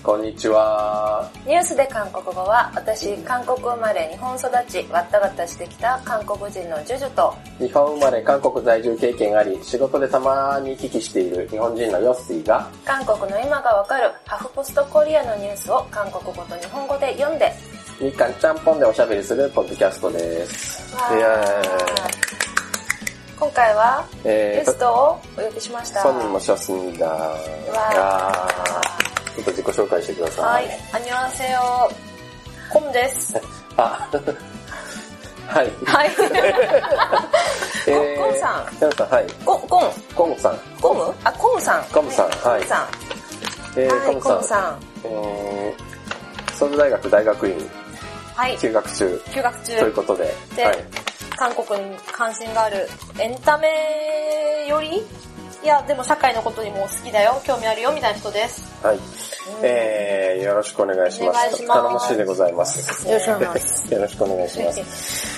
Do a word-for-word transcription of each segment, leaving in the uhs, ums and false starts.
こんにちは。 ニュースで韓国語は、私、韓国生まれ、日本育ち、わったわたしてきた韓国人のジュジュと、 日本生まれ、韓国在住経験あり、仕事でたまに行き来している日本人のヨッシーが、 韓国の今がわかるハフポストコリアのニュースを韓国語と日本語で読んで、 日韓ちゃんぽんでおしゃべりするポッドキャストです。 わー。 いや今回は、 えー、 ゲストをお呼びしました。 ソンニモショスニダー。 わー。 ちょっと自己紹介してください。 はい。アニョンセヨ、コムです。 あ、はい。 はい。 えー、 コムさん。 コムさん、はい。 コ、コム。 コムさん。 コムあ、コムさん。 コムさん、はい。 コムさん。 えー、 はい、 コムさん。 コムさん。 えー、ソウル大学大学院。 はい。 休学中。 休学中。 ということで。 で、 はい、 韓国に関心があるエンタメよりいや、でも社会のことにも好きだよ、興味あるよ、みたいな人です。 はい。えー、よろしくお願いします。 お願いします。 頼もしいでございます。 よろしくお願いします。 よろしくお願いします。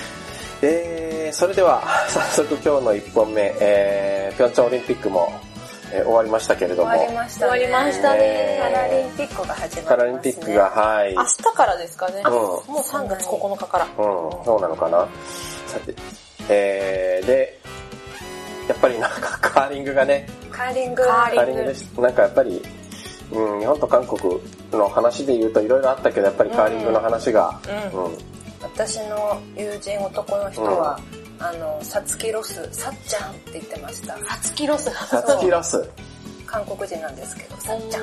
えー、それでは、早速今日のいっぽんめ、えー、ピョンチャンオリンピックも、えー、終わりましたけれども。 終わりましたね。終わりましたね。パラリンピックが始まりますね。 パラリンピックが、はい。 明日からですかね。うん、もうさんがつここのかから。 うん、そうなのかな。さて、えー、で、やっぱりなんかカーリングがね、 カーリング、 カーリングです。なんかやっぱり、うん、日本と韓国の話で言うといろいろあったけど、やっぱりカーリングの話が、 うんうん、私の友人男の人は、うん、あの、サツキロス、サッちゃんって言ってました。サツキロス。 サツキロス。 韓国人なんですけど、サッちゃんって。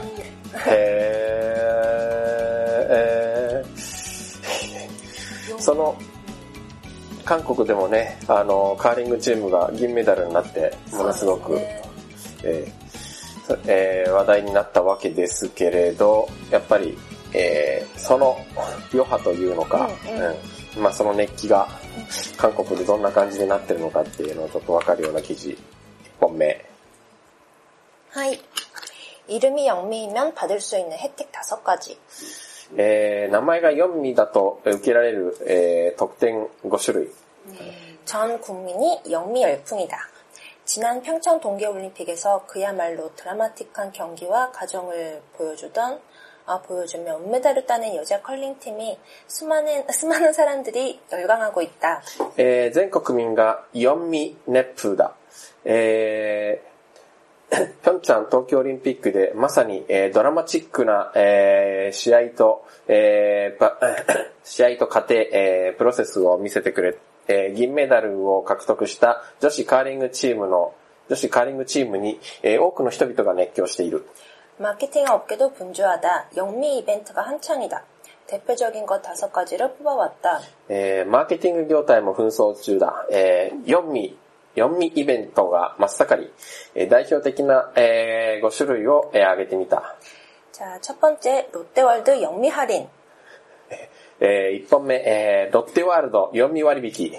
へー、えー、その、韓国でもね、あの、カーリングチームが銀メダルになって、ものすごく、ねえーえー、話題になったわけですけれど、やっぱり、えー、その余波というのか、うんうんうん、まあその熱気が韓国でどんな感じになってるのかっていうのをちょっとわかるような記事、いっぽんめ。 はい。이름이 영미이면 받을 수 있는 혜택 다섯 가지. えー、名前がよんみだと受けられる、えー、特典ご種類。 전 국민이 영미 열풍이다. 지난 평창 동계올림픽에서 그야말로 드라마틱한 경기와 과정을 보여주던 아, 보여주며 은메달을 따낸 여자 컬링팀이 수많은 수많은 사람들이 열광하고 있다. えー、全国民がよんみ熱風だ。えーピョンチャン冬季オリンピックでまさに、えー、ドラマチックな、えー、試合と、えー、試合と過程、えー、プロセスを見せてくれ、えー、銀メダルを獲得した女子カーリングチームの女子カーリングチームに、えー、多くの人々が熱狂している。 마케팅 업계도 분주하다. 영미 이벤트가 한창이다. 대표적인 것 다섯 가지를 뽑아왔다. えー、マーケティング業態も紛争中だ。えー、よんみよんみイベントが真っ盛り、えー、代表的な、えー、ご種類を、えー、挙げてみた。 자, 첫 번째 롯데월드 영미 할인. えー、いっぽんめ、えー、ロッテワールドよんみ割引。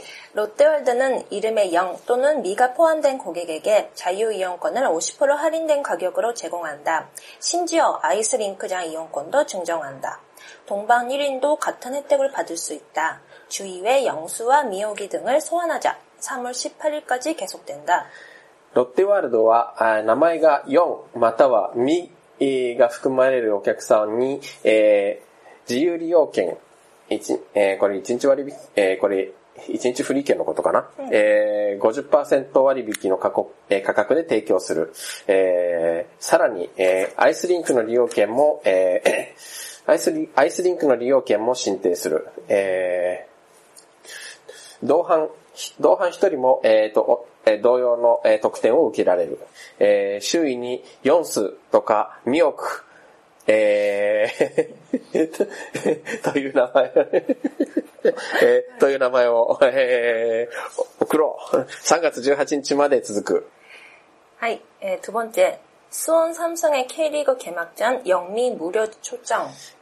롯데월드는 이름에 영 또는 미가 포함된 고객에게 자유이용권을 오십 퍼센트 할인된 가격으로 제공한다. 심지어 아이스링크장 이용권도 증정한다. 동방 일 인도 같은 혜택을 받을 수 있다. 주의회 영수와 미호기 등을 소환하자. 삼월 십팔일까지 계속된다. ロッテワールドは名前がよんまたはみが含まれるお客さんに、えー、自由利用券、えー、これいちにち割引、えー、これいちにちフリー券のことかな、うんえー、ごじゅっパーセント 割引の価格、えー、価格で提供する。えー、さらに、えー、アイスリンクの利用券も、えー、アイスリ、アイスリンクの利用券も申請する。えー、同伴同伴一人も、えーと、同様の、えー、特典を受けられる。えー、周囲にヨンスとかミオク、えー、という名前、えー、という名前を、えー、送ろう。さんがつじゅうはちにちまで続く。 はい、えー、두 번째. 수원 삼성의 K리그 개막전 영미 무료 초청.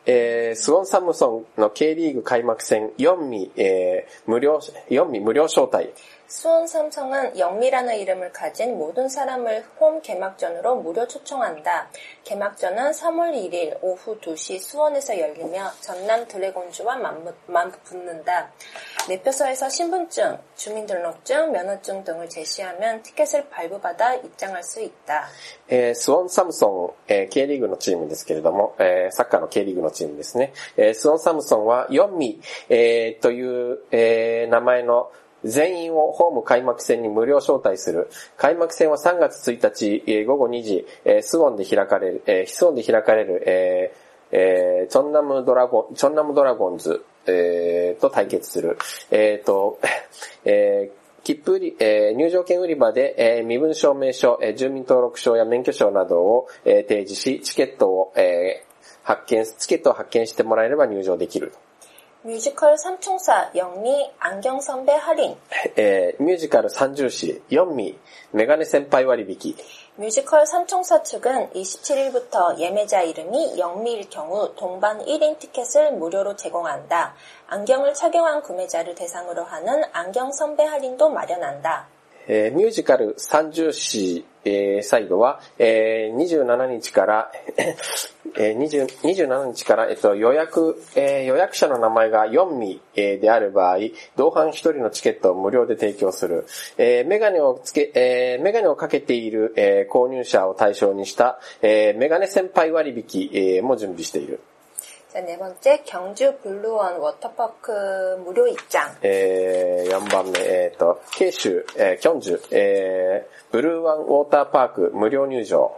えー、スウォンサムソンの K リーグ開幕戦よん미、えー、無料、よん미無料招待。 수원 삼성은 영미라는 이름을 가진 모든 사람을 홈 개막전으로 무료 초청한다. 개막전은 삼월 일일 오후 두 시 수원에서 열리며 전남 드래곤즈와 맞붙는다. 매표소에서 신분증, 주민등록증, 면허증 등을 제시하면 티켓을 발부받아 입장할 수 있다. えー、スウォンサムソン、えー、K リーグのチームですけれども、えー、サッカーの K リーグのチームですね。えー、スウォンサムソンはよん미、えー、という、えー、名前の全員をホーム開幕戦に無料招待する。開幕戦はさんがつついたち、えー、午後にじ、えー、スウォンで開かれる、えー、スウォンで開かれる、えーえー、チョンナムドラゴン、チョンナムドラゴンズ、えー、と対決する。えーと、えー、切符売り、えー、入場券売り場で、えー、身分証明書、えー、住民登録証や免許証などを、えー、提示し、チケットを、えー、発見、チケットを発見してもらえれば入場できる。 뮤지컬 삼총사 영미 안경 선배 할인. えー、ミュージカル三重視よん미メガネ先輩割引. 뮤지컬 삼총사 측은 이십칠일부터 예매자 이름이 영미일 경우 동반 일 인 티켓을 무료로 제공한다. 안경을 착용한 구매자를 대상으로 하는 안경 선배 할인도 마련한다. えー、ミュージカル三重視、えー、サイドは、えー、にじゅうしちにちから、えー、にじゅう、にじゅうしちにちから、えっと、予約、えー、予約者の名前がよん미、えー、である場合、同伴一人のチケットを無料で提供する。えー、メガネをつけ、えー、メガネをかけている、えー、購入者を対象にした、えー、メガネ先輩割引、えー、も準備している。 자, 네 번째, 경주 블루원 워터파크 무료 입장. えー、よんばんめ、えっと、慶州、えー、キョンジュ、えー、ブルーワンウォーターパーク無料入場。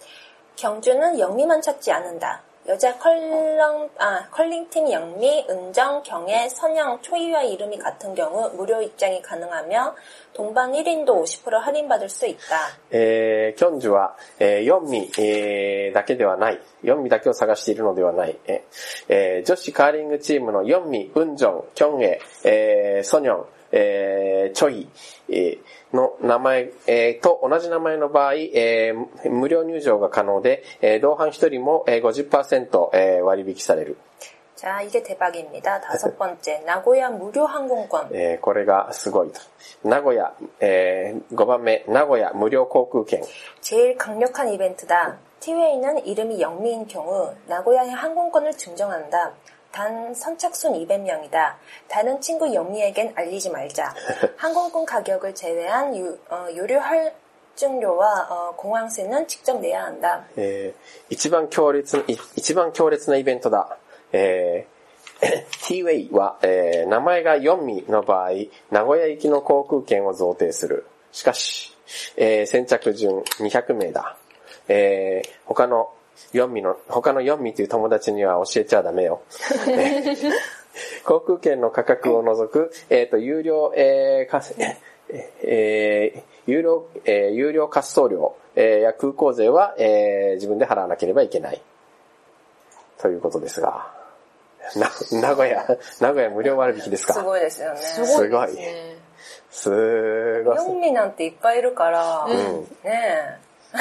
경주는 영미만 찾지 않는다. 여자 컬러, 아, 컬링팀 영미, 은정, 경애, 선영, 초이와 이름이 같은 경우 무료 입장이 가능하며 동반 일 인도 오십 퍼센트 할인받을 수 있다. えー、キョンジュは、えー、よん미、えー、だけではない。よん미だけを探しているのではない。えー、女子カーリングチームのよん미、ウンジョン、キョンエ、えー、ソニョン、えー、チョイ、えー、の名前、えー、と同じ名前の場合、えー、無料入場が可能で、えー、同伴一人も ごじゅっパーセント、えー、割引される。 자, 이게 대박입니다. 다섯 번째, 나고야 무료 항공권. えー、これがすごいと。名古屋、えー、ごばんめ、名古屋無料航空券。 제일 강력한 이벤트다. 티웨이는 이름이 영미인 경우 나고야의 항공권을 증정한다. 단 선착순 이백 명이다. 다른 친구 영미에겐 알리지 말자. 항공권 가격을 제외한 유, 어, 유료 할증료와 어, 공항세는 직접 내야 한다. えー、一番強烈、一番強烈なイベントだ。えー、T-Way は、えー、名前がよん미の場合、名古屋行きの航空券を贈呈する。しかし、えー、先着順にひゃくめいだ。えー、他のよん미の、他のよん미という友達には教えちゃダメよ。えー、航空券の価格を除く、えっと、有料、えー、かえー、有料、えー、有料滑走料、えー、や空港税は、えー、自分で払わなければいけない。ということですが。な、名古屋、名古屋無料割引ですか。 すごいですよね。 すごいですね。すごい。 よん미なんていっぱいいるから、うん、ねえ。うん、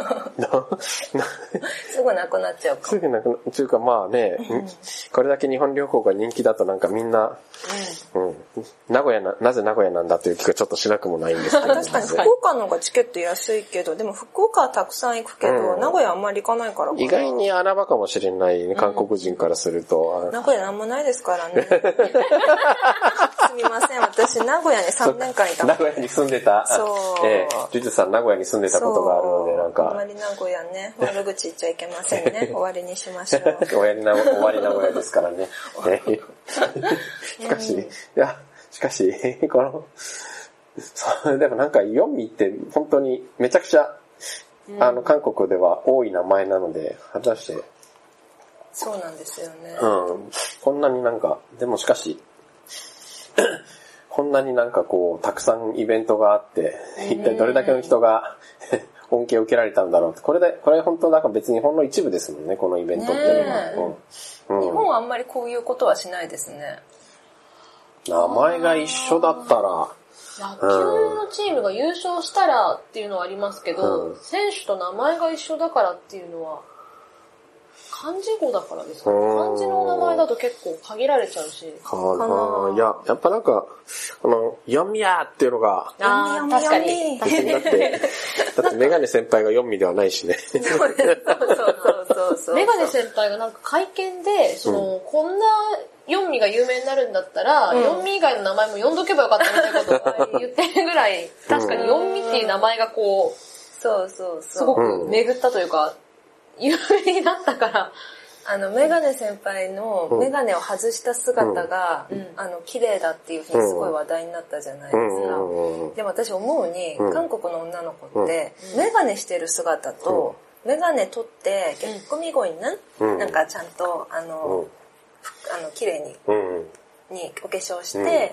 すぐなくなっちゃうか。 すぐなくなっちゃうか、まあね、うん、これだけ日本旅行が人気だとなんかみんな、うんうん、名古屋な、なぜ名古屋なんだという気がちょっとしなくもないんですけど、ね。 確かに福岡の方がチケット安いけど、でも福岡はたくさん行くけど、うん、名古屋あんまり行かないからかな。 意外に穴場かもしれない、ね、韓国人からすると。 うん、名古屋なんもないですからね。すみません、私名古屋にさんねんかんいた。 名古屋に住んでた。 そう。 えー、ジュジュさん名古屋に住んでたことがあるので、なんか。 あんまり名古屋ね、悪口言っちゃいけませんね。終わりにしましょう。 終わりな、終わり名古屋ですからね。しかし、いや、しかし、この、そう、でもなんかよん미って本当にめちゃくちゃ、うん、あの、韓国では多い名前なので、果たして。 そうなんですよね。 うん。こんなになんか、でもしかし、こんなになんかこう、たくさんイベントがあって、一体どれだけの人が恩恵を受けられたんだろうって。これで、これ本当なんか別にほんの一部ですもんね、このイベントっていうのは。 うんうん、日本はあんまりこういうことはしないですね。 名前が一緒だったら、 野球のチームが優勝したらっていうのはありますけど、うん、選手と名前が一緒だからっていうのは漢字語だからですかね。漢字の名前だと結構限られちゃうし。 かな。いや、やっぱなんか、あの、読みやーっていうのが、 ああ、確かに。 だって、だってメガネ先輩が読みではないしね。 そうそうそうそう。 メガネ先輩がなんか会見で、その、うん、こんな読みが有名になるんだったら、うん、読み以外の名前も読んどけばよかったみたいなことを言ってるぐらい、確かに読みっていう名前がこう、 そうそうそう。 すごく巡ったというか、有名になったから、 あの、メガネ先輩のメガネを外した姿が、うん、あの、綺麗だっていうふうにすごい話題になったじゃないですか。うん、でも私思うに、うん、韓国の女の子って、メガネしてる姿と、メガネ取って、結構見声にな、うん、なんかちゃんと、あの、あの、綺麗に、にお化粧して、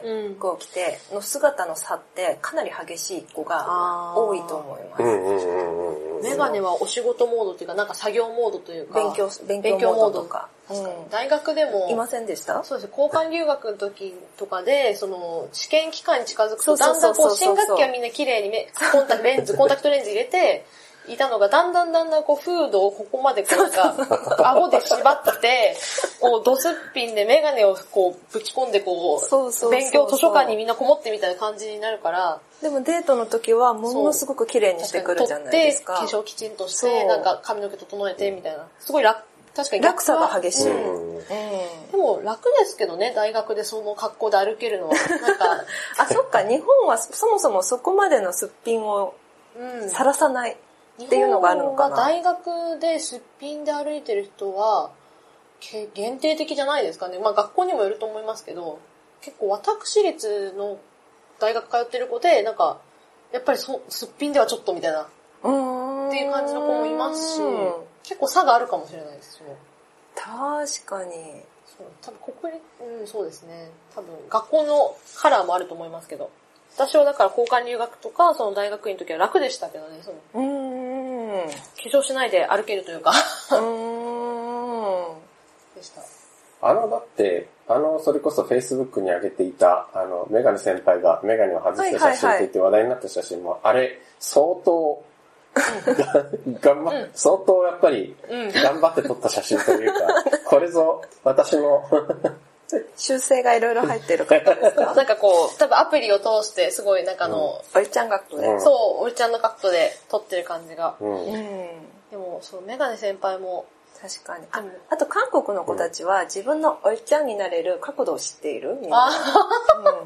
服を着ての姿の差ってかなり激しい子が多いと思います。 メガネはお仕事モードっていうか、なんか作業モードというか、 勉強、勉強モードとか。 確かに。大学でも、 いませんでした？ そうです。交換留学の時とかで、その、試験期間に近づくと、だんだんこう、新学期はみんな綺麗に目、コンタクトレンズ、コンタクトレンズ入れて、いたのが、だんだんだんだんこう、フードをここまでこう、なんか、顎で縛って、こう、ドスッピンでメガネをこう、ぶち込んでこう、そうそうそうそう勉強図書館にみんなこもってみたいな感じになるから、 でもデートの時はものすごく綺麗にしてくるじゃないですか。 化粧きちんとして、なんか髪の毛整えてみたいな。すごい楽、確かに落差が激しい、 うんうん。でも楽ですけどね、大学でその格好で歩けるのは。なんかあ、そっか、日本はそもそもそこまでのすっぴんをさらさない。っていうのがあるのかな。 大学ですっぴんで歩いてる人は限定的じゃないですかね。まあ学校にもよると思いますけど、結構私立の大学通ってる子で、なんかやっぱりそすっぴんではちょっとみたいなっていう感じの子もいますし、結構差があるかもしれないです。その確かに。 そう多分国立、うんそうですね。多分学校のカラーもあると思いますけど。私はだから交換留学とか、その大学院の時は楽でしたけどね、その。うーん。化粧しないで歩けるというか。うーん。でした。あの、だって、あの、それこそ Facebook に上げていた、あの、メガネ先輩がメガネを外した写真って言って話題になった写真も、あれ、相当、頑張っ、相当やっぱり、頑張って撮った写真というか、これぞ私の、 修正がいろいろ入ってる方ですか？ なんかこう、多分アプリを通してすごいなんかの、 うん、おいちゃん学徒で。 そう、おいちゃんの学徒で撮ってる感じが。うん、でも、そう、メガネ先輩も。 確かに。あ、あと韓国の子たちは自分のおいちゃんになれる角度を知っているみんな。あ、うん、そうそう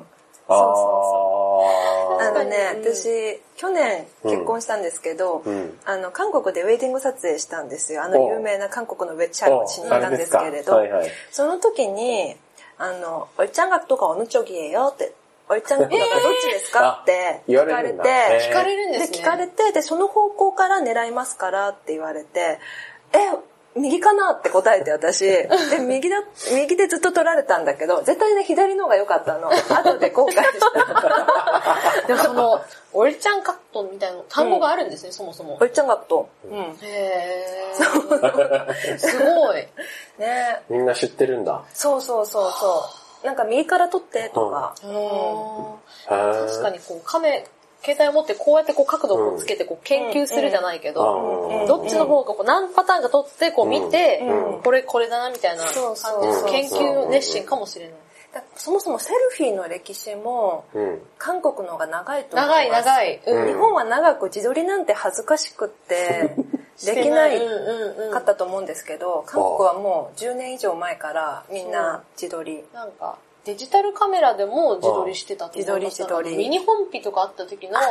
そう。あのね、うん、私、去年結婚したんですけど、うん、あの、韓国でウェディング撮影したんですよ。あの有名な韓国のウェッチャーをしに行ったんですけれど、はいはい、その時に、あの、おいちゃん学とかおぬちょぎえよって、おいちゃん学とかどっちですかって聞かれて、 聞かれるんですね。 で、聞かれて、で、その方向から狙いますからって言われて、え、右かなって答えて私、で、右だ、右でずっと取られたんだけど、絶対ね、左の方が良かったの。後で後悔した。 でもその、おいちゃん学徒みたいな単語があるんですね、うん、そもそも。 おいちゃん学徒。 うん。へー。すごい。 ねみんな知ってるんだ。 そうそうそうそう。なんか右から取ってとか。 うん、確かにこう、カメ、携帯を持ってこうやってこう角度をつけてこう研究するじゃないけど、うん、どっちの方がこう何パターンか取ってこう見て、うん、これこれだなみたいな感じで研究熱心かもしれない。 そもそもセルフィーの歴史も、韓国の方が長いと思います。 長い長い、 うん。日本は長く自撮りなんて恥ずかしくってできないかったと思うんですけど、韓国はもうじゅうねん以上前からみんな自撮り。 なんかデジタルカメラでも自撮りしてたと思います。自撮り自撮り。ミニ本ピとかあった時の、そう、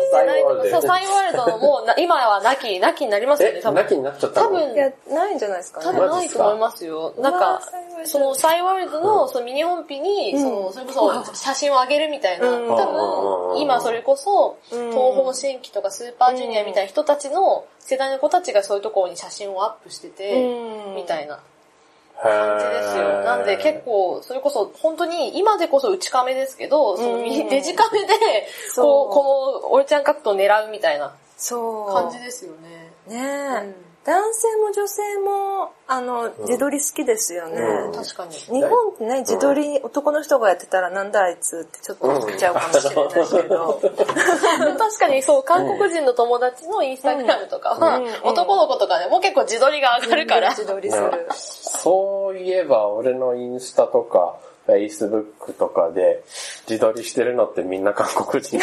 サイワールド。そう、サイワールドのもう、今はなき、なきになりますよね、多分。 なきになっちゃったの？ 多分、いや、ないんじゃないですかね。 多分ないと思いますよ。なんか、そのサイワールドのそのミニ本ピに、その、それこそ写真を上げるみたいな、多分、今それこそ、東方神起とかスーパージュニアみたいな人たちの世代の子たちがそういうところに写真をアップしてて、みたいな。感じですよ。なんで結構、それこそ本当に今でこそ内カメですけど、そのデジカメで、こう、このおいちゃんカットを狙うみたいな感じですよね。 ねえ。 男性も女性も、あの、自撮り好きですよね。 うん、 確かに。 日本ってね、自撮り、うん、男の人がやってたらなんだあいつってちょっと思っちゃうかもしれないけど。 うん、確かにそう、韓国人の友達のインスタグラムとかは、うん、男の子とかでも結構自撮りが上がるから。 自撮りする。 そういえば、俺のインスタとか、Facebook とかで自撮りしてるのってみんな韓国人。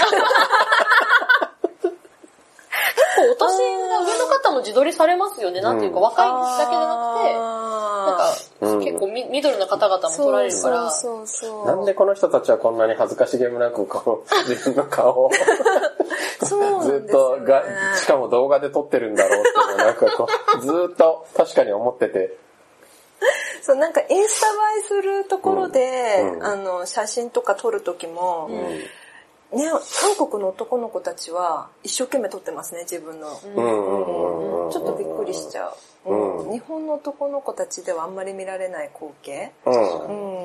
お年が上の方も自撮りされますよね。なんていうか、若いだけじゃなくて、なんか、うん、結構ミドルな方々も撮られるから。 そうそうそう。 なんでこの人たちはこんなに恥ずかしげもなく、この自分の顔をそうずっとが、しかも動画で撮ってるんだろうっていうのなんかこう、ずっと確かに思ってて。 そう、なんかインスタ映えするところで、うんうん、あの、写真とか撮るときも、うんね、韓国の男の子たちは一生懸命撮ってますね、自分の。うんうん、ちょっとびっくりしちゃう、うん。日本の男の子たちではあんまり見られない光景。うん、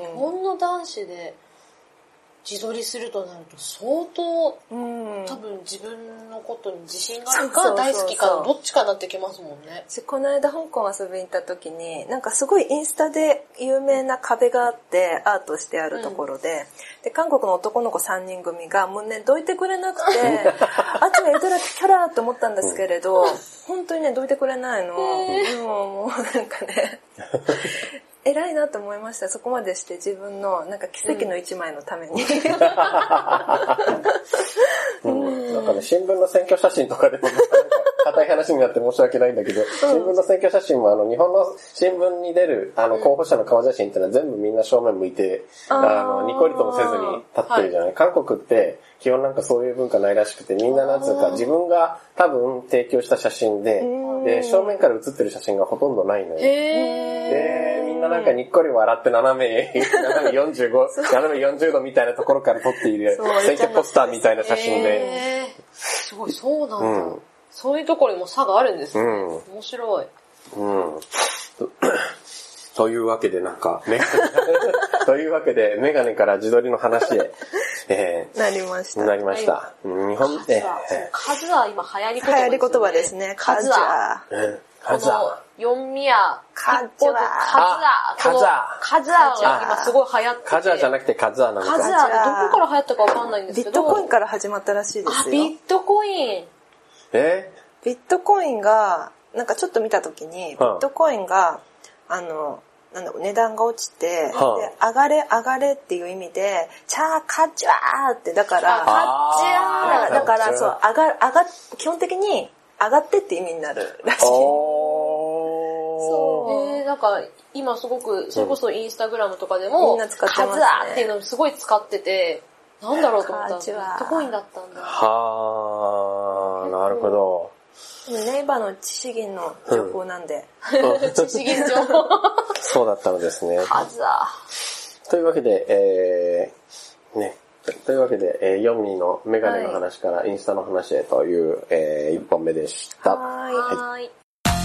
日本の男子で自撮りするとなると相当、うん、多分自分のことに自信があるか大好きかのどっちかになってきますもんね。 この間香港遊びに行った時に、なんかすごいインスタで有名な壁があってアートしてあるところで、うん、で韓国の男の子さんにん組がもうねどいてくれなくてあっちがエドラキャラと思ったんですけれど、本当にねどいてくれないの。もうもうなんかね偉いなと思いました。そこまでして自分のなんか奇跡の一枚のために、 うんうん、なんかね新聞の選挙写真とかでも硬い話になって申し訳ないんだけど、新聞の選挙写真もあの日本の新聞に出るあの候補者の顔写真ってのは全部みんな正面向いて、うん、あのニコリともせずに立ってるじゃない。はい、韓国って基本なんかそういう文化ないらしくて、みんななんつうか自分が多分提供した写真で、で正面から写ってる写真がほとんどないのよ。でみんななんかにっこり笑って斜め斜めよんじゅうご斜めよんじゅうどみたいなところから撮っている選挙ポスターみたいな写真で、 すごいそうなんだ。うん、そういうところにも差があるんですね。うん、面白い。うん。 というわけでなんか、メガネというわけでメガネから自撮りの話へ、 えー、なりました。 なりました。日本で、数は今流行り言葉ですね。 流行り言葉ですね。数は。 数は。読みや、 カズア。 カズア。カズアが今すごい流行ってて。 カズアじゃなくてカズアなのか。 カズアでどこから流行ったかわかんないんですけど。 ビットコインから始まったらしいですよ。 あ、ビットコイン。 えビットコインが、なんかちょっと見たときに、ビットコインが、あの、なんだろう、値段が落ちて、はあ、で、上がれ上がれっていう意味で、チャーカッチャーって、だから、カッチャーだから、そう、上が、上が、基本的に上がってって意味になるらしい。 そう。えー、なんか、今すごく、それこそインスタグラムとかでも、みんな使ってますね。カズアっていうのをすごい使ってて、なんだろうと思ったら、ビットコインだったんだ。 はー、なるほど。 ネイバーの知識の情報なんで。 うん、知識情報。 そうだったのですね。 はずだ。 というわけで、えー、ね。というわけで、えー、ヨンミーのメガネの話からインスタの話へという、えー、一本目でした。 はーい。はい。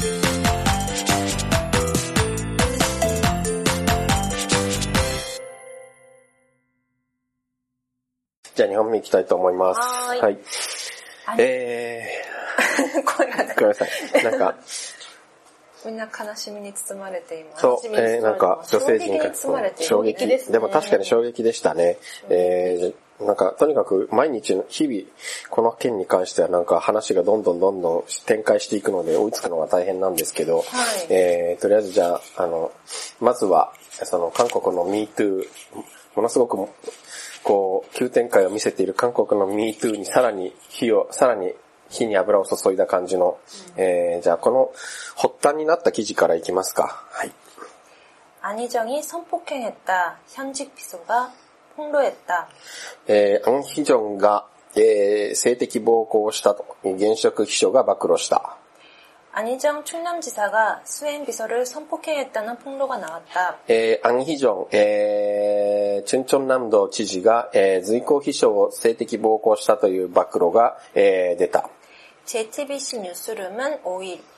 じゃあにほんめいきたいと思います。 はーい。 はい。えー、声がね。 ごめんなさい。なんか、 みんな悲しみに包まれています。 そう、えー、なんか女性陣が衝撃です、ね。でも確かに衝撃でしたね。えー、なんかとにかく毎日の日々この件に関してはなんか話がどんどんどんどん展開していくので追いつくのが大変なんですけど、はい、えー、とりあえずじゃああのまずはその韓国の ミートゥー ものすごくこう急展開を見せている韓国の ミートゥー にさらに火をさらに火に油を注いだ感じの、うん、えー、じゃあこの発端になった記事からいきますか。はい。 안희정이 성폭행했다. 현직 비서가 폭로했다. 에, 안희정가 에,性的暴行をしたと現職秘書が暴露した. 안희정 충남지사가 수행 비서를 성폭행했다는 폭로가 나왔다. 에, 안희정 에, 춘천남도 지지가 에, 随行秘書を性的暴行したという暴露が、えー、出た. 제이티비씨 뉴스룸은 오일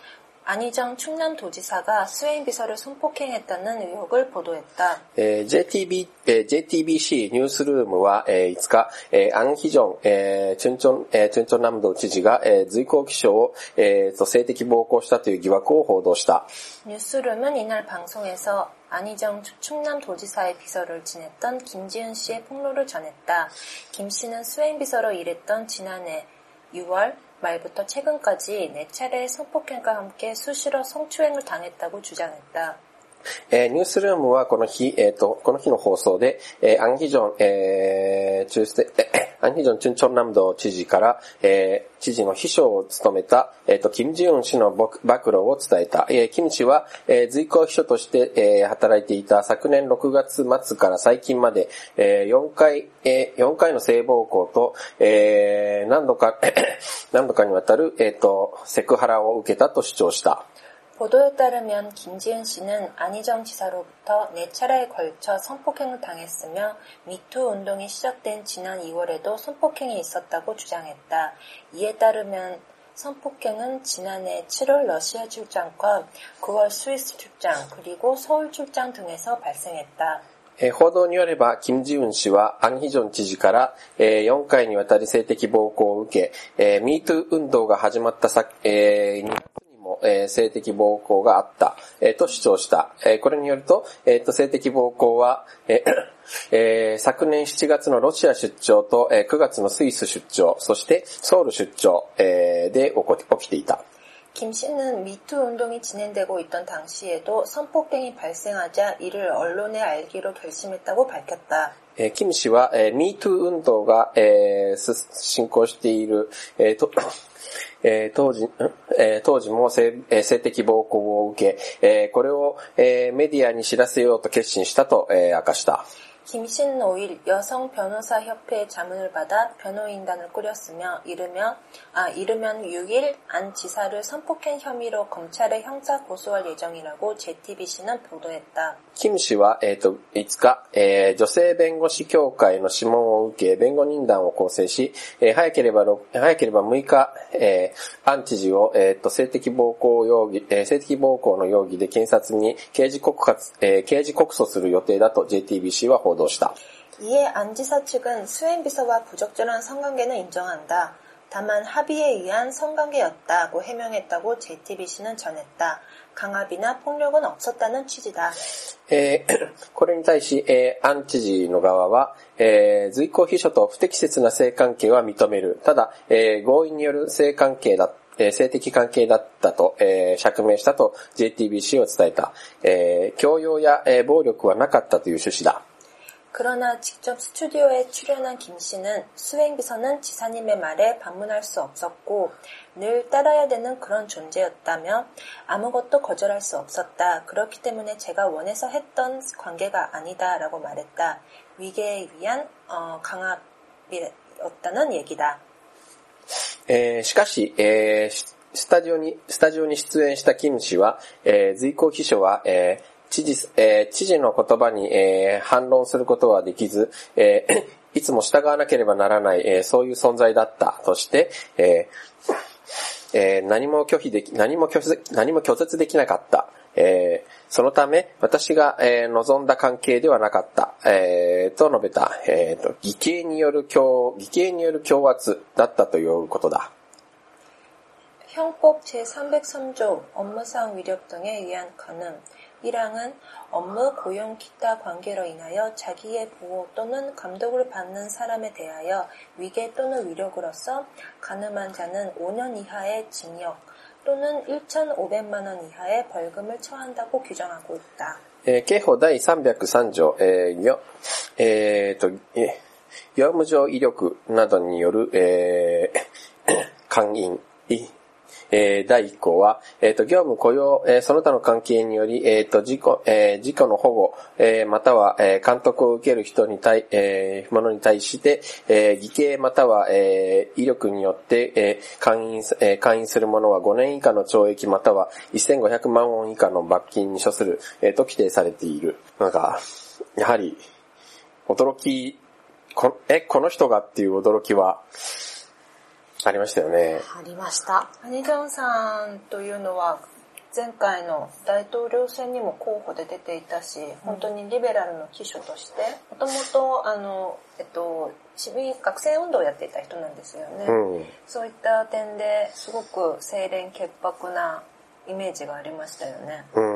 안희정 충남도지사가 수행비서를 손폭행했다는 의혹을 보도했다. えー、ジェイティービー、えー、ジェイティービーシー ニュースルームは、えー、いつか、えー、アンヒジョン、えー、チュンチョン、えー、チュンチョン南道知事が、えー、随行記者を、えー、と性的暴行したという疑惑を報道した。 뉴스룸은 이날 방송에서 안희정 충남도지사의 비서를 지냈던 김지은 씨의 폭로를 전했다. 김 씨는 수행비서로 일했던 지난해 유월 말부터 최근까지 네 차례의 성폭행과 함께 수시로 성추행을 당했다고 주장했다. えー、ニュースルームはこの日、えっ、ー、と、この日の放送で、えー、アンヒジョン、えー、中世、えー、アンヒジョンチュンチョン南道知事から、えー、知事の秘書を務めた、えっ、ー、と、キム・ジウン氏の暴露を伝えた。えー、キム氏は、えー、随行秘書として、えー、働いていた昨年ろくがつ末から最近まで、えー、よんかい、えー、よんかいの性暴行と、えー、何度か、何度かにわたる、えっ、ー、と、セクハラを受けたと主張した。 보도에 따르면 김지은 씨는 안희정 지사로부터 네 차례에 걸쳐 성폭행을 당했으며 미투 운동이 시작된 지난 이월에도 성폭행이 있었다고 주장했다. 이에 따르면 성폭행은 지난해 칠월 러시아 출장과 구월 스위스 출장 그리고 서울 출장 등에서 발생했다. えー、報道によれば、キム・ジウン氏はアンヒジョン知事から、えー、よんかいにわたり性的暴行を受け、えー、ミートゥー運動が始まったさ、えー、にがつにも、えー、性的暴行があった、えー、と主張した。えー、これによると、えー、と性的暴行は、えーえー、昨年しちがつのロシア出張と、えー、くがつのスイス出張、そしてソウル出張、えー、で起きていた。 김 씨는 미투 운동이 진행되고 있던 당시에도 성폭행이 발생하자 이를 언론에 알기로 결심했다고 밝혔다. えー、キム氏は、えー、ミートゥー運動が、えー、進行している、えーとえー、当時、えー、当時も 性, 性的暴行を受け、えー、これを、えー、メディアに知らせようと決心したと、えー、明かした。 김 씨는 오 일 여성 변호사 협회의 자문을 받아 변호인단을 꾸렸으며 이르면 아 이르면 육 일 안 지사를 성폭행 혐의로 검찰에 형사 고소할 예정이라고 제이티비씨는 보도했다. キム氏は、えっと、いつか、えー、女性弁護士協会の諮問を受け、弁護人団を構成し、えー、早ければ、早ければむいか、えー、アン知事を、えっと、性的暴行容疑、えー、性的暴行の容疑で検察に刑事告発、えー、刑事告訴する予定だと ジェイティービーシー は報道した。 이에 안 지사 측은 수행비서와 부적절한 성관계는 인정한다. 다만 합의에 의한 성관계였다고 해명했다고 제이티비씨는 전했다. 강압이나 폭력은 없었다는 취지다. えー、これに対し、えー、アン知事の側は、えー、随行秘書と不適切な性関係は認める。ただ、えー、合意による性関係だ、えー、性的関係だったと、えー、釈明したと ジェイティービーシー を伝えた。えー、強要や、えー、暴力はなかったという趣旨だ。 그러나 직접 스튜디오에 출연한 김 씨는 수행비서는 지사님의 말에 반문할 수 없었고 늘 따라야 되는 그런 존재였다며 아무것도 거절할 수 없었다. 그렇기 때문에 제가 원해서 했던 관계가 아니다라고 말했다. 위계에 의한 어, 강압이었다는 얘기다. えー、しかし、えー、スタジオにスタジオに出演したキム氏は、えー、随行秘書は、えー知事、えー、知事の言葉に、えー、反論することはできず、えー、いつも従わなければならない、えー、そういう存在だったとして、えーえー、何も拒否でき、何も拒絶、何も拒絶できなかった。えー、そのため、私が、えー、望んだ関係ではなかった、えー、と述べた、えーと、偽計による強、偽計による強圧だったということだ。 형법 제삼백삼 조 업무상 위력 등에 의한 간음 일 항은 업무, 고용, 기타 관계로 인하여 자기의 보호 또는 감독을 받는 사람에 대하여 위계 또는 위력으로서 간음한 자는 오 년 이하의 징역 또는 천오백만 원 이하의 벌금을 처한다고 규정하고 있다. えー、刑法第さんびゃくさんじょう、えー、よ、えーと、えー、業務上威力などによる、えー、姦淫、えー、だいいっ項は、えっと、業務雇用、えー、その他の関係により、えっと、事故、えー、事故の保護、えー、または、えー、監督を受ける人に対、えー、ものに対して、えー、偽計または、えー、威力によって、えー、勧誘、えー、勧誘する者はごねん以下の懲役またはせんごひゃくまんウォン以下の罰金に処する、えー、と規定されている。なんか、やはり、驚き、こ、え、この人がっていう驚きは、ありましたよね。 ありました。 アニジョンさんというのは前回の大統領選にも候補で出ていたし、本当にリベラルの旗手として、もともと、あの、えっと、市民学生運動をやっていた人なんですよね。うん、そういった点ですごく清廉潔白なイメージがありましたよね。 うん、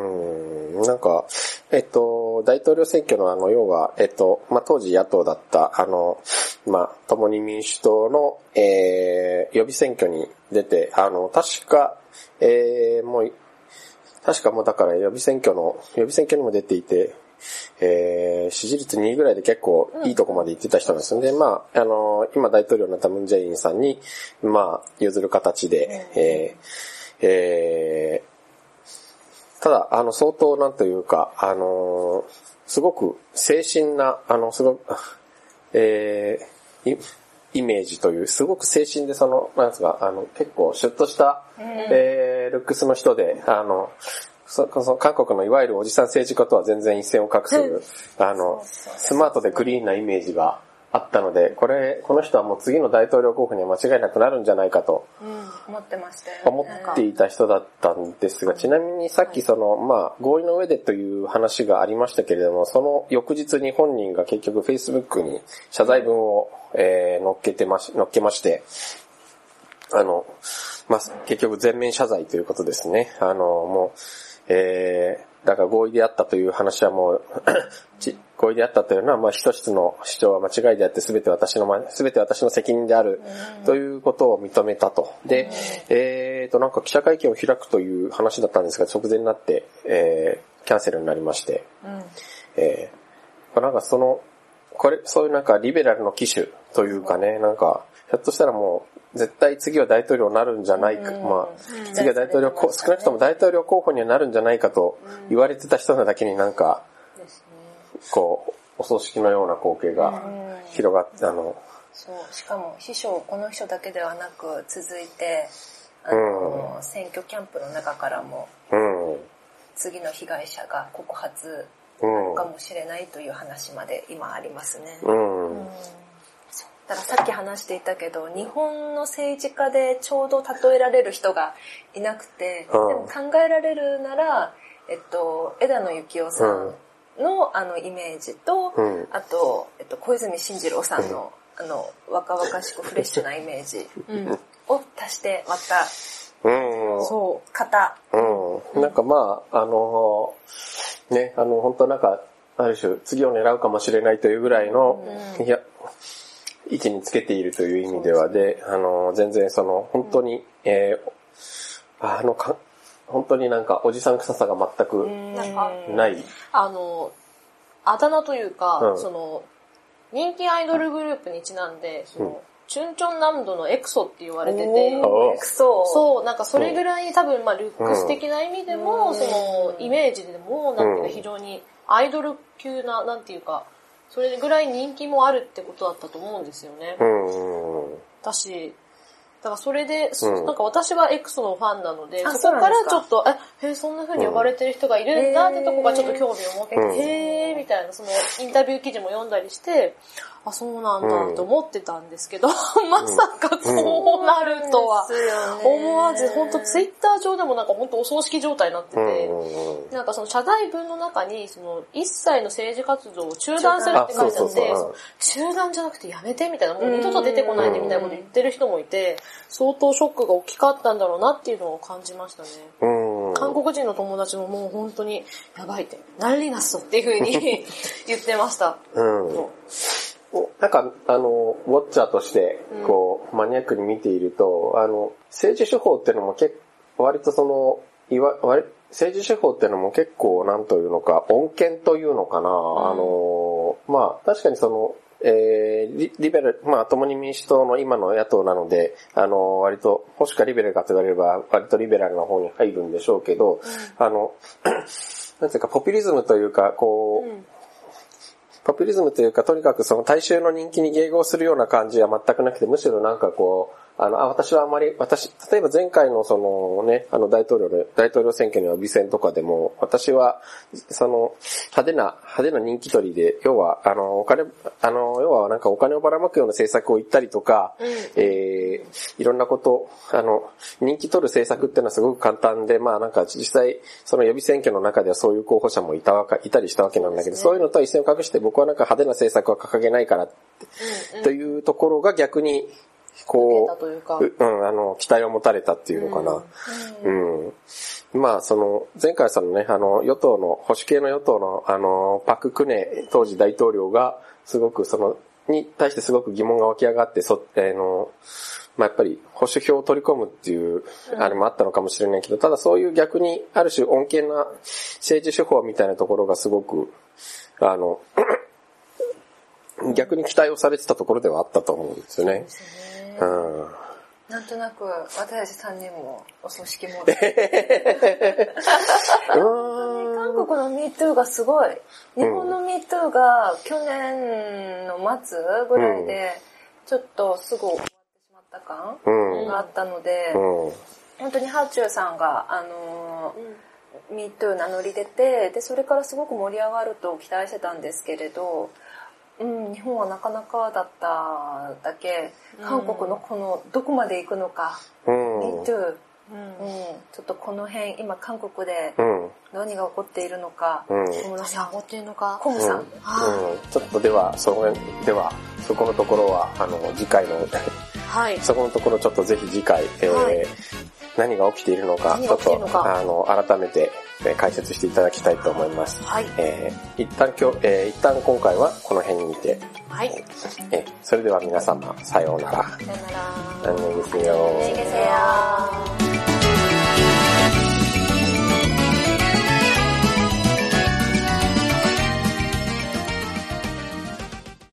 なんか、えっと、大統領選挙のあの、要は、えっと、まあ、当時野党だった、あの、まあ、共に民主党の、えー、予備選挙に出て、あの、確か、えー、もう、確かもうだから予備選挙の、予備選挙にも出ていて、えー、支持率にいぐらいで結構いいとこまで行ってた人なんですよね。うん、まあ、あの、今大統領になったムンジェインさんに、まあ、譲る形で、うん、えー、えー、ただ、あの、相当なんというか、あの、すごく精神な、あの、すごく、えー、イメージという、すごく精神でその、なんですか、あの、結構シュッとした、うん、えー、ルックスの人で、あの、そその韓国のいわゆるおじさん政治家とは全然一線を画する、うん、あの、スマートでクリーンなイメージがあったので、これ、この人はもう次の大統領候補には間違いなくなるんじゃないかと、 うん、思ってましたよね。 思っていた人だったんですが、ちなみにさっきその、まあ、合意の上でという話がありましたけれども、その翌日に本人が結局 Facebook に謝罪文を、えー、載っけてまし、載っけまして、あの、まあ、結局全面謝罪ということですね。あの、もう、えー、だから合意であったという話はもう合意であったというのは、まあ、一つの主張は間違いであって、すべて私の、すべて私の責任であるということを認めたと。で、えーと、なんか記者会見を開くという話だったんですが、直前になって、えー、キャンセルになりまして、えー、なんかその、これ、そういうなんかリベラルの機種というかね、なんか、ひょっとしたらもう、絶対次は大統領になるんじゃないか、まあ、次は大統領、少なくとも大統領候補にはなるんじゃないかと言われてた人なだけになんか、こう、お葬式のような光景が広がって、あの、 そう、しかも秘書、この人だけではなく続いて、あの、うん、選挙キャンプの中からも、うん、次の被害者が告発なのかもしれないという話まで今ありますね。うんうん、だからさっき話していたけど、日本の政治家でちょうど例えられる人がいなくて、うん、でも考えられるなら、えっと、枝野幸男さんの、うん、あのイメージと、うん、あと、えっと、小泉進次郎さんの、うん、あの、若々しくフレッシュなイメージを足してまた、うん、そう、型。 うん。なんかまあ、あの、ね、あの、本当なんか、ある種、次を狙うかもしれないというぐらいの、うん、いや、位置につけているという意味ではで、あの、全然その、本当に、うん、えー、あのか、本当になんか、おじさん臭さが全くない。 あの、あだ名というか、うん、その、人気アイドルグループにちなんで、その、うん、チュンチョンナムドのエクソって言われてて、エクソそう、なんかそれぐらい多分、まあ、ルックス的な意味でも、うん、その、イメージでも、なんていうか非常にアイドル級な、なんていうか、それぐらい人気もあるってことだったと思うんですよね。うん。だし、だからそれで、うん、なんか私はエクソのファンなので、そこからちょっと、え、へそんな風に呼ばれてる人がいるんだってとこがちょっと興味を持って、うん、へーみたいな、そのインタビュー記事も読んだりして、あ、そうなんだと思ってたんですけど、うん、まさかこうなるとは思わず、ほんとツイッター上でもなんかほんとお葬式状態になってて、うん、なんかその謝罪文の中に、その一切の政治活動を中断するって書いてあって、中断じゃなくてやめてみたいな、もう二度と出てこないでみたいなこと言ってる人もいて、相当ショックが大きかったんだろうなっていうのを感じましたね。うん、韓国人の友達ももう本当にやばいって、何リナスっていう風に言ってました。うんなんか、あの、ウォッチャーとして、こう、うん、マニアックに見ていると、あの、政治手法っていうのも結構、割とその、いわ、割、政治手法っていうのも結構、なんというのか、穏健というのかな、うん、あの、まあ、確かにその、えー、リ, リベラル、まあ、共に民主党の今の野党なので、あの、割と、もしかリベラルかと言われれば、割とリベラルの方に入るんでしょうけど、うん、あの、なんていうか、ポピュリズムというか、こう、うんポピュリズムというか、とにかくその大衆の人気に迎合するような感じは全くなくて、むしろなんかこう、 あの、あ、私はあまり、私、例えば前回のそのね、あの大統領の、大統領選挙の予備選とかでも、私は、その、派手な、派手な人気取りで、要は、あの、お金、あの、要はなんかお金をばらまくような政策を言ったりとか、うん、えー、いろんなこと、あの、人気取る政策っていうのはすごく簡単で、まあなんか実際、その予備選挙の中ではそういう候補者もいたわけ、いたりしたわけなんだけど、そういうのとは一線を画して僕はなんか派手な政策は掲げないからって、うんうん、というところが逆に、こう、ううん、あの、期待を持たれたっていうのかな。うん。うん、まあ、その、前回さんのね、あの、与党の、保守系の与党の、あの、パククネ当時大統領が、すごくその、に対してすごく疑問が湧き上がって、そ、あの、まあ、やっぱり保守票を取り込むっていう、あれもあったのかもしれないけど、ただそういう逆に、ある種穏健な政治手法みたいなところがすごく、あの、逆に期待をされてたところではあったと思うんですよね。うん、 なんとなく私たちさんにんもお葬式も韓国の ミートゥー がすごい。日本の ミートゥー が去年の末ぐらいでちょっとすぐ終わってしまった感があったので、うんうん、本当にハーチューさんがあのー、ミートゥー 名乗り出て、でそれからすごく盛り上がると期待してたんですけれど、うん、日本はなかなかだっただけ、韓国のこのどこまで行くのか、うん、Me too、うんうん、ちょっとこの辺今韓国で何が起こっているのか、 うん、何が起こっているのか、 コムさん、うんうん、 ちょっとではそこではそこのところはあの次回のはい、そこのところちょっとぜひ次回、えーはい、何が起きているのかちょっとあの改めて解説していただきたいと思います。はい。えー、一旦今日、えー、一旦今回はこの辺にて。はい。えー、それでは皆様、さようなら。 さようなら。 안녕히 계세요。 안녕히 계세요。